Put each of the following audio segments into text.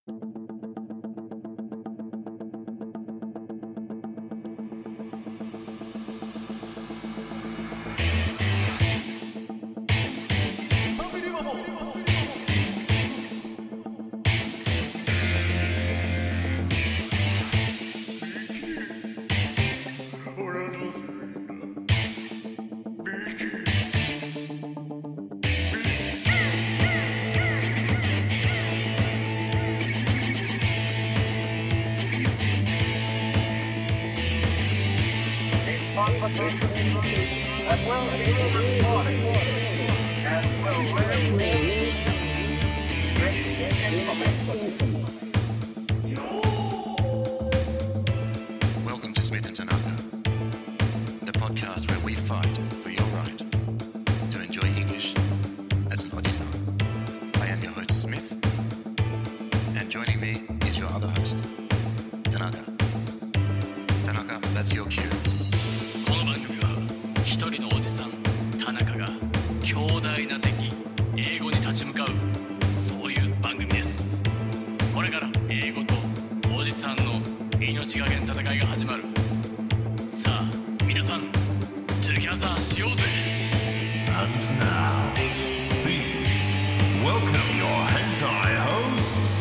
Welcome to Smith and Tanaka, the podcast where we fight for your right to enjoy English as an Oji-san. I am your host Smith, and joining me is your other host, Tanaka. Tanaka, that's your cue. この番組は一人のおじさん田中が強大な敵英語に立ち向かうそういう番組です。これから英語とおじさんの命がけの戦いが始まる。さあ皆さんトゥギャザーしようぜ。 And now, please welcome your hentai hosts,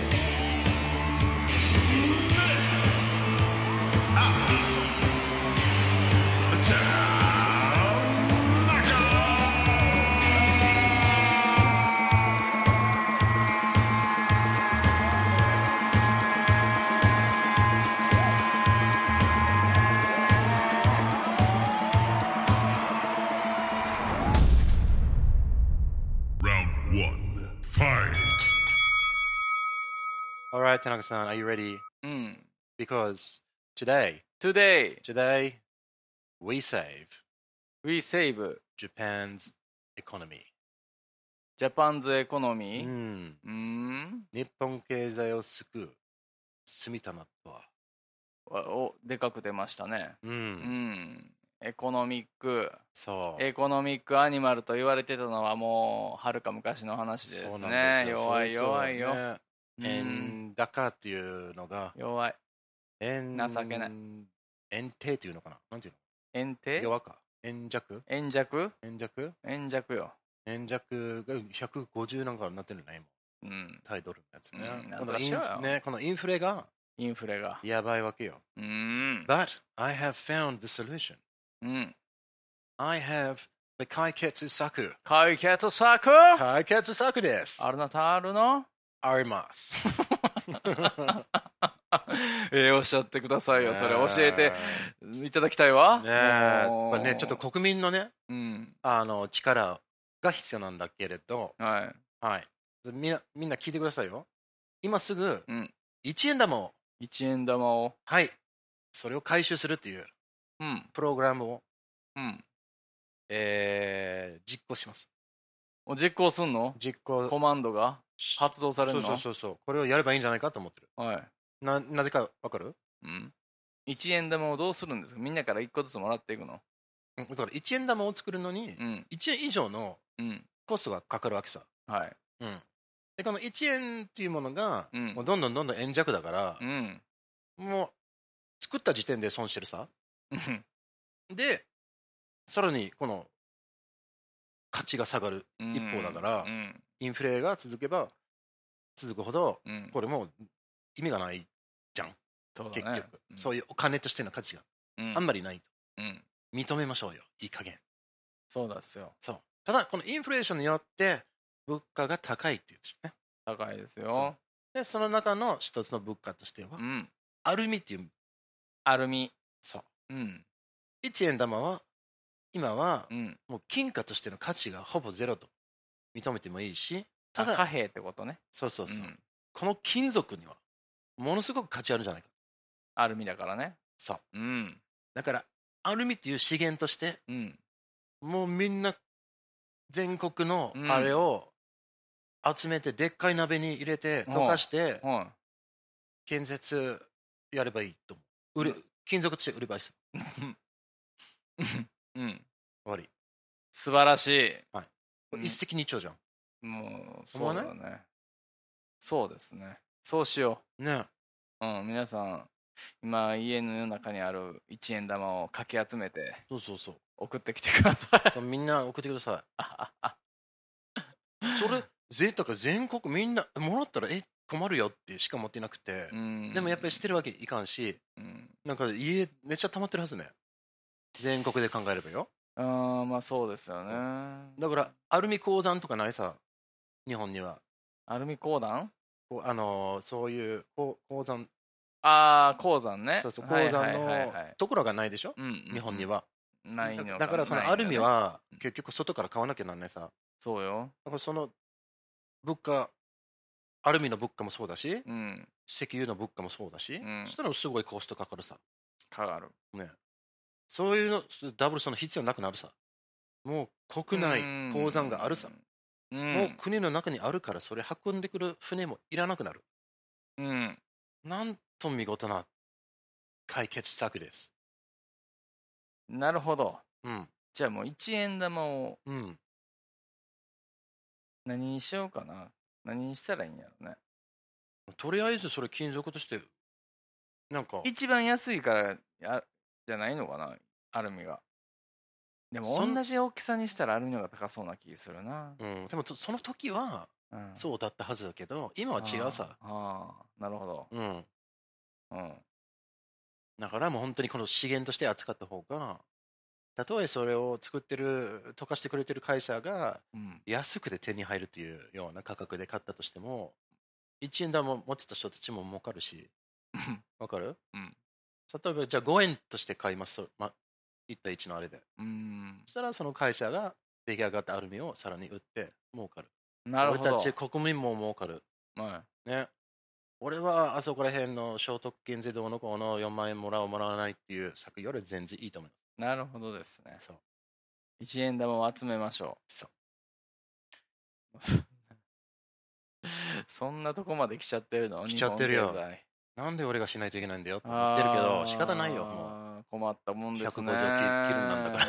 Smith and Tanaka. Round one, fight. All right, Tanaka-san, are you ready? うん。 Because today, Today, we save we save Japan's economy. Japan's う economy. ん。 うん。 日本経済を救う住玉とは。 でかく出ましたね。 う。 うんん。エコノミックアニマルと言われてたのはもうはるか昔の話ですそうなんね。 ですよ。 弱い弱いよ。 ね円高っていうのが、 弱い。 円情けない。 円低っていうのかな、なんていう円低の、弱か。円弱円弱円弱円弱よ。 円弱が150なんかになってるね、今。 うん。 タイドルのやつね。 うん、なんとかしようよ。 ね、このインフレがインフレが。 やばいわけよ。 うん。 But I have found the solution. うん。 I have the 解決策。 解決策解決策です。 あるなたあるのあります。 おっしゃってくださいよ。それ教えていただきたいわ。 ねえ、まあね、ちょっと国民のね、 うん。 力が必要なんだけれど、 はい。 はい。みんな聞いてくださいよ。今すぐうん。 1円玉を、 1円玉を。 はい、それを回収するっていううん。 プログラムを、 うん。 実行します。 実行すんの？ 実行。 コマンドが発動されるの？ そう。これをやればいいんじゃないかと思ってる。 はい。 なぜかわかる？ うん。1円玉をどうするんですか？みんなから1個ずつもらっていくの？ だから1円玉を作るのに、 うん。 1円以上のうん。 コストがかかるわけさ。 はい。 うん。で、この1円っていうものが、 うんもうどんどん円弱だから、 うん。 もう作った時点で損してるさ。 うんで、さらにこの価値が下がる一方だから、 うん。 インフレが続けば続くほど、 うん。 これもう意味がないじゃん、 そうだね。 結局、そういうお金としての価値がうんあんまりないと、 うん。 認めましょうよ、いい加減。 そうですよ。 そう。ただこのインフレーションによって物価が高いっていうんですよね。 高いですよ。 でその中の一つの物価としては、 うん。 アルミっていう、 アルミ。 そう、 うん。 1円玉は今はうん。 もう金貨としての価値がほぼゼロと認めてもいいし、ただ貨幣ってことね。 そうそう、 ん。 この金属にはものすごく価値あるんじゃないか。 アルミだからね。 そう。 うん。 だからアルミっていう資源としてうん。 もうみんな全国のうんあれを集めてでっかい鍋に入れて溶かしては建設やればいいと思う。金属として売ればいいです。 い。うん。 終わり。 素晴らしい。うん一石二鳥じゃん。 もう、 思わない？ そうだね。そうですね。 そうしよね。 う。皆さん今家の中にある1円玉をかき集めてそうそうそう。 送ってきてください。 そうみんな送ってください。それだから全国みんなもらったら困るよってしか持ってなくて、でもやっぱり捨てるわけいかんし、なんか家めっちゃ溜まってるはずね。全国で考えればよ。 まあそうですよね。 だからアルミ鉱山とかないさ、日本には。 アルミ鉱山？ そういう鉱山。 鉱山ね。 そうそう、鉱山のところがないでしょ、日本には。 ないのか。 だからこのアルミは結局外から買わなきゃなんないさ。 そうよ。 だからその物価、アルミの物価もそうだし、石油の物価もそうだし、そしたらすごいコストかかるさ。 かかる。 ね。そういうのダブルその必要なくなるさ。もう国内鉱山があるさ。もう国の中にあるからそれ運んでくる船もいらなくなる。なんと見事な解決策です。 なるほど。じゃあもう1円玉を何にしようかな。何にしたらいいんやろね。 とりあえずそれ金属としてなんか一番安いからじゃないのかな、アルミが。でも同じ大きさにしたらアルミの方が高そうな気するな。 でもその時はそうだったはずだけど、今は違うさ。 なるほど。 だからもう本当にこの資源として扱った方が、たとえそれを溶かしてくれてる会社が安くで手に入るというような価格で買ったとしても、1円玉持ってた人たちも儲かるし、わかる？例えばじゃあ5円として買います、1対1のあれで。そしたらその会社が出来上がったアルミをさらに売って儲かる。 なるほど。 俺たち国民も儲かる。ね。俺はあそこら辺の所得減税どうのこうの4万円もらわないっていう策より全然いいと思います。 なるほどですね。 そう。 1円玉を集めましょう。 そう。 そんなとこまで来ちゃってるの？ 来ちゃってるよ。なんで俺がしないといけないんだよって思ってるけど、仕方ないよ、もう。困ったもんですね。 150キロなんだから。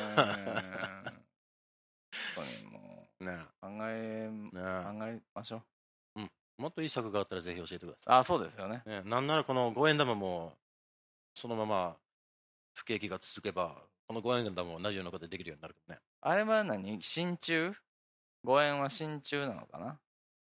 本当にもう、 ね、 考えましょう。もっといい策があったらぜひ教えてください。 そうですよね。 なんならこの5円玉も、そのまま不景気が続けば、この5円玉も同じようなことできるようになるけどね。 あれは真鍮？ 5 円は真鍮なのかな？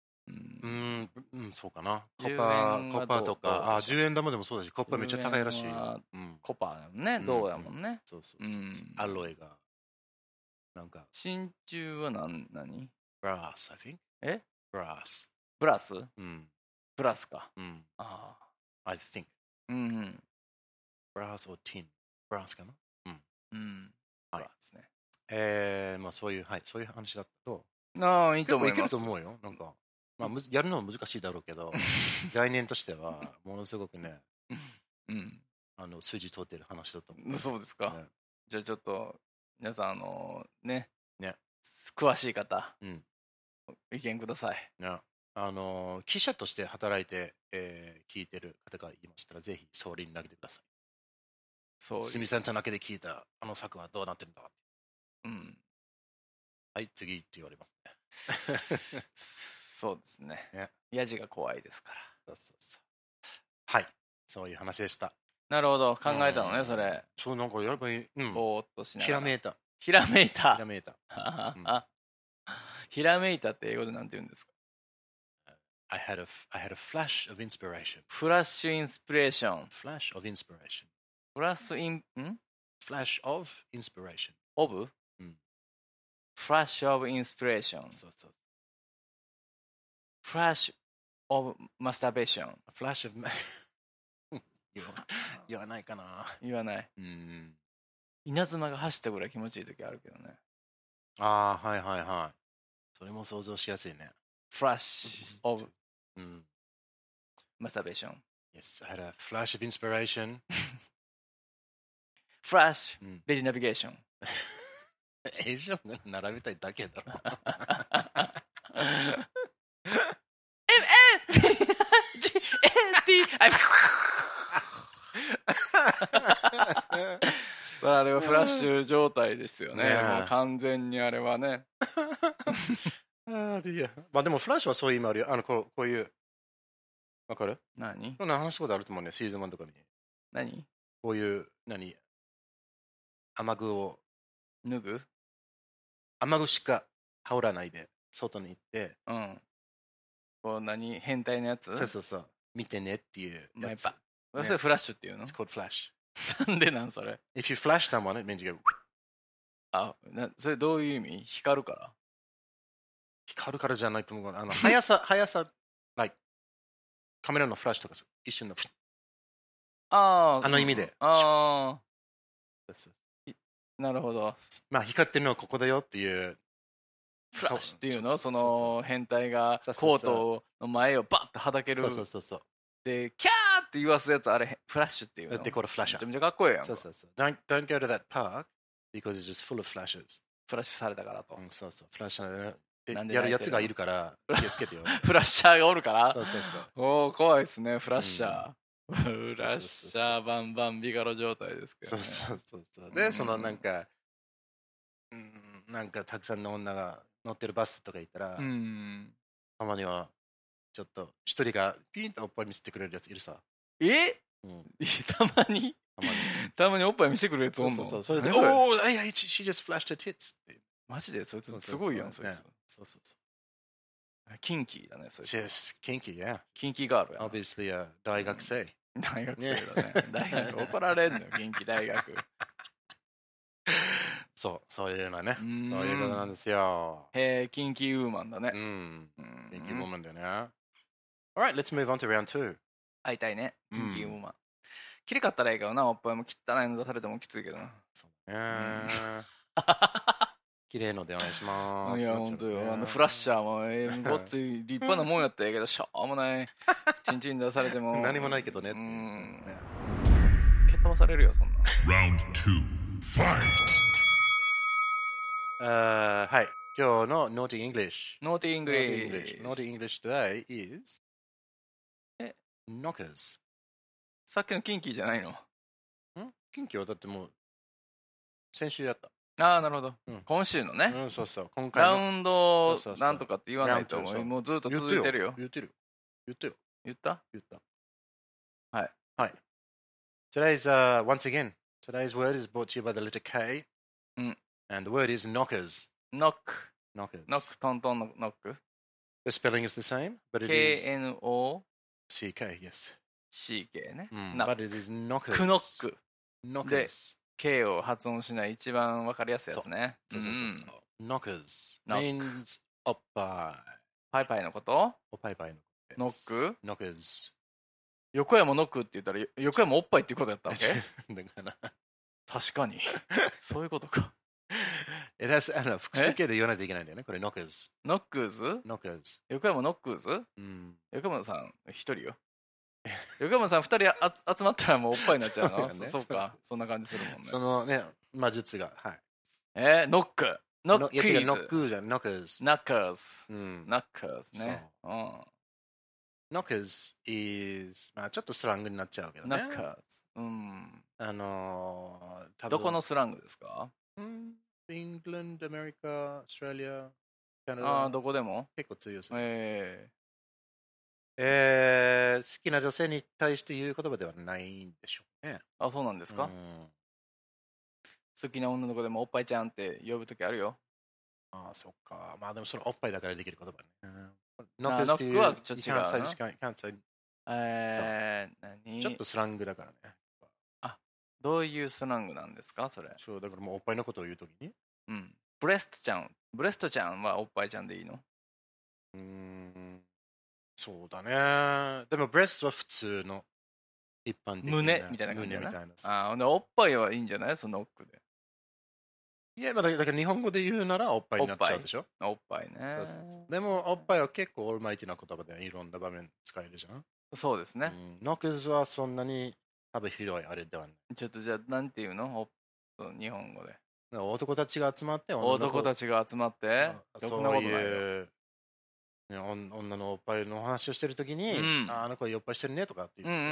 そうかな。コッパーとか、10円玉でもそうだし、コッパーめっちゃ高いらしいよ。 コッパーだもんね、銅だもんね。 そう。アロエが。なんか。 真鍮は何？ Brass, I think. Brass. ブラス？ブラスか。 I think. Brass or tin. Brass かな？ ブラスね。まあそういう話だと。 いいと思います。 いけると思うよ。なんか。やるのは難しいだろうけど、概念としてはものすごくね、数字通ってる話だと思う。 そうですか。じゃあちょっと皆さん詳しい方、意見ください。 記者として働いて聞いてる方がいましたら、ぜひ総理に投げてください。すみさんじゃなけで聞いたあの策はどうなってるんだ。はい、次って言われますね。 そうですね。ヤジが怖いですから。 はい、そういう話でした。 なるほど、考えたのね、それ。 そう、なんかやればいい。 ぼーっとしながら。 ひらめいた。 ひらめいた。ひらめいたって英語でなんて言うんですか？ I had a flash of inspiration. フラッシュインスピレーション。 Flash of inspiration. Flash of inspiration. of? Flash of inspiration. そうそう。 Flash of masturbation. Flash of 言わないかな。 言わない。稲妻が走ったぐらい気持ちいい時あるけどね。 はい。それも想像しやすいね。 Flash of masturbation. Yes, I had a flash of inspiration. Flash, ready navigation. 以上並べたいだけだろ。 あれはフラッシュ状態ですよね。もう完全にあれはね。 まあでもフラッシュはそういう意味あるよ。こういうわかる？ 何そんな話したことあると思うね、シーズン1とかに。 何こういう、雨具を、 脱ぐ雨具しか羽織らないで、外に行って、 うん。こう変態のやつそうそうそう。見てねっていうやつ。 それフラッシュっていうの It's called flash. なんでなんそれ If you flash someone, it means you go それどういう意味光るから光るからじゃないと思う。速さ、like カメラのフラッシュとか一瞬のあの意味で。 なるほど。 まあ光ってるのはここだよっていう。 フラッシュっていうのその変態がコートの前をバッとはだける。 そう。 で、キャーって言わすやつ、あれ、フラッシュっていうの。 で、これフラッシュ。 めちゃめちゃかっこいいやん。 そう。Don't go to that park because it's just full of flashes. フラッシュされたからと。 そう。フラッシュやるやつがいるから気をつけてよ。 フラッシャーがおるからそう。 おお、怖いですね、フラッシャー。フラッシャーバンバンビガロ状態ですけどね。 そう。で、なんかたくさんの女が乗ってるバスとか行ったら、たまにはちょっと一人がピンとおっぱい見せてくれるやついるさ。たまにおっぱい見せてくれるやつおんの？ それで、おー、she just flashed her tits って。 マジでそいつすごいやん、そいつ。そう。キンキーだね、そいつ。 キンキー、yeah. キンキーガールや。 Obviously, 大学生。 大学生だね。大学怒られんのよ、キンキー大学。 そういうのね。そういうことなんですよ。 キンキーウーマンだね。 キンキーウーマンだよね。Alright, let's move on to round 2. 会いたいね、キンキーウーマン。きれかったらいいけどな、おっぱいも汚いの出されてもきついけどな。 そうね。綺麗のでお願いします。 いや、ほんとよ。フラッシャーも、ごっつい立派なもんやったらええけど、しょうもない。チンチン出されても。 何もないけどね。 蹴っ飛ばされるよ、そんな。 Round 2, fight! はい。今日の Naughty English。Naughty English today is knockers。 さっきのキンキーじゃないの？ キンキーはだってもう、先週やった。 なるほど。今週のね。 そう。今回のラウンドなんとかって言わないと思う。もうずっと続いてるよ。 言ったはい。 Today's, once again, today's word is brought to you by the letter K. And the word is knockers. Knock, トントンのノック。 The spelling is the same, but it is K-N-O-C-K, yes. C-K ね。 But it is knockers. クノック。 で、 K を発音しない一番わかりやすいやつね。 そう。Knockers means おっぱい。 パイパイのこと？ おっぱいのこと。 ノック？ Knockers。 横山ノックって言ったら横山おっぱいっていうことやったわけ？ だから確かに。そういうことか。 複数形で言わないといけないんだよね。これ knockers。 knockers？横山ノックーズ？横山さん一人よ。横山さん2人集まったらもうおっぱいになっちゃうの？そうか、そんな感じするもんね。 そのね、魔術が。はい。 ノック。ノックーズ。 ノックじゃん、knockers。 knockers ね。 knockers is、まあちょっとスラングになっちゃうけどね。 knockers。 どこのスラングですか？ England、アメリカ、オーストラリア、カナダ。 どこでも？ 結構通用する。好きな女性に対して言う言葉ではないんでしょうね。 そうなんですか？好きな女の子でもおっぱいちゃんって呼ぶときあるよ。 そっか。まあでもそれおっぱいだからできる言葉ね。 ノックはちょっと違うな。 ちょっとスラングだからね。 どういうスラングなんですかそれ？ そうだからもうおっぱいのことを言うときに。 ブレストちゃんはおっぱいちゃんでいいの？ そうだね。でもブレストは普通の一般的な胸みたいな感じだな。おっぱいはいいんじゃない？そのノックで。 いや、だから日本語で言うならおっぱいになっちゃうでしょ？ おっぱいね。 でもおっぱいは結構オールマイティな言葉でいろんな場面使えるじゃん。 そうですね。 ノックスはそんなに多分広いあれではない。 ちょっとじゃあなんていうの？日本語で。 男たちが集まってそういう女のおっぱいの話をしてるときに、あの子おっぱいしてるねとかって言って、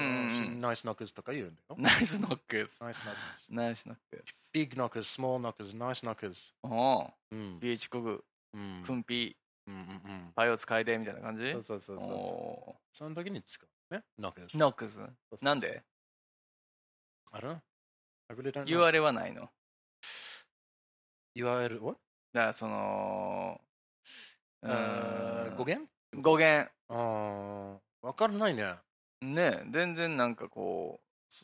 ナイスノックスとか言うんだよ。 ナイスノックス。 ビッグノックス、スモールノックス、ナイスノックス。 ビーチコグ、クンピー、パイを使いでみたいな感じ？ そう。その時に使う。 ね。ノックス。 ノックス。なんで？ I don't know. I really don't know. 言われはないの？ 言われる what？ だからその語源？ 語源。 わからないね。 ね、全然なんかこ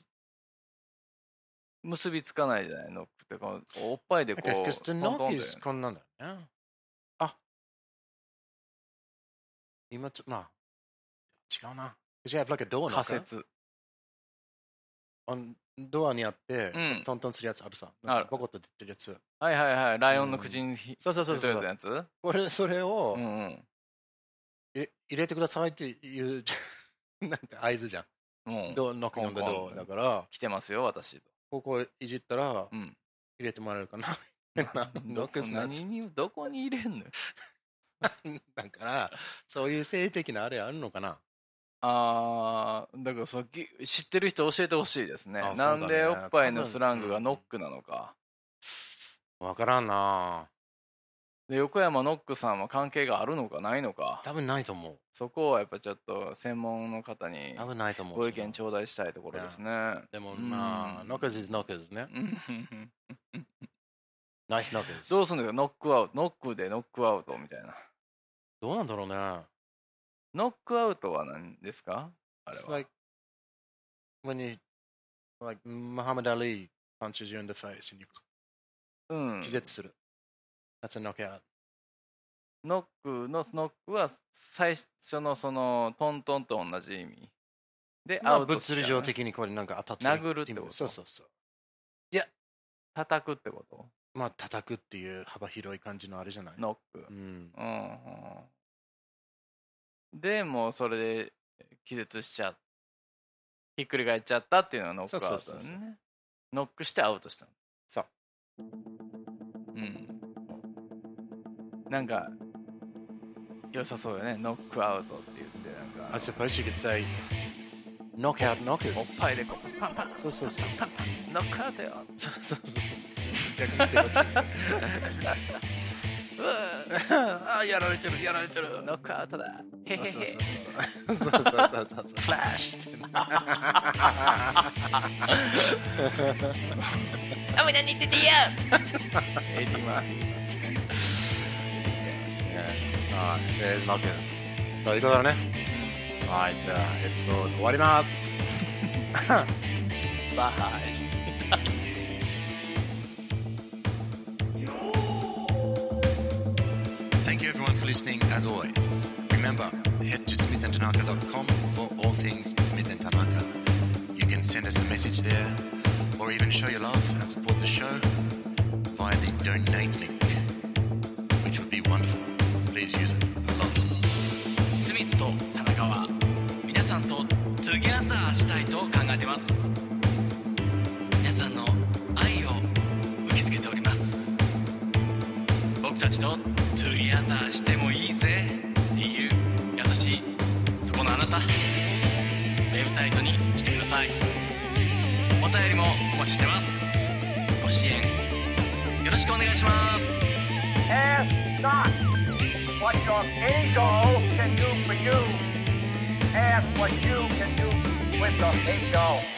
う結びつかないじゃないのってこうおっぱいでこうトントンでこんなんだよね。あ、今まあ違うな。じゃあ、like a door knocker。 仮説。 ドアにあって、トントンするやつあるさ。ボコッと出てるやつ。 はいはいはい。ライオンの口にそうそうそうそう。 やつ。 それを入れてくださいっていうなんか合図じゃん。ドアノックオンドアだから。 来てますよ私。 ここいじったら入れてもらえるかな。 どこに入れんの？ だからそういう性的なあれあるのかな。 だから知ってる人教えてほしいですね。なんでおっぱいのスラングがノックなのか。 わからんな。 で横山ノックさんは関係があるのかないのか。 多分ないと思う。 そこはやっぱちょっと専門の方にご意見頂戴したいところですね。 でもまあノックis ノックですね。ナイスノックです。 どうするんだよノックアウト、ノックでノックアウトみたいな。 どうなんだろうね。 ノックアウトは何ですか？あれは。 Like when you like Muhammad Ali punches you in the face and you 気絶する。That's a knockout。 ノックは最初のそのトントンと同じ意味でアウトしちゃう、ね。物理上的にこれなんか当たって殴るってこと。 そうそうそう。いや叩くってこと？ まあ叩くっていう幅広い感じのあれじゃない。 ノック。でもうそれで気絶しちゃう。ひっくり返っちゃったっていうのがノックアウトだね。ノックしてアウトしたの。 そう。 なんか良さそうよね。ノックアウトって言ってなんか。 I suppose you could say knockout knockers。 おっぱいでこうパンパン。 そうそうそう。 パンパンノックアウトよ。 そうそうそう。逆にしてほしい。やられてるやられてる。 ノックアウトだ。へへへ。 そうそうそう。フラッシュ。 あ、何言っててや。エディマーフィー。 ノックです。そういうことだね。はい、じゃあエピソード終わります。 バイ。 Thank you everyone for listening as always. Remember, head to smithandtanaka.com for all things Smith and Tanaka. You can send us a message there or even show your love and support the show via the donate link, which would be wonderful. Please use it a lot. スミスと田中は皆さんとトゥギャザーしたいと考えています。皆さんの愛を受け付けております。僕たちとトゥギャザーしてもいいぜっていう優しいそこのあなた、ウェブサイトに来てください。お便りもお待ちしてます。ご支援よろしくお願いします。 Ask not what your ego can do for you. Ask what you can do with your ego.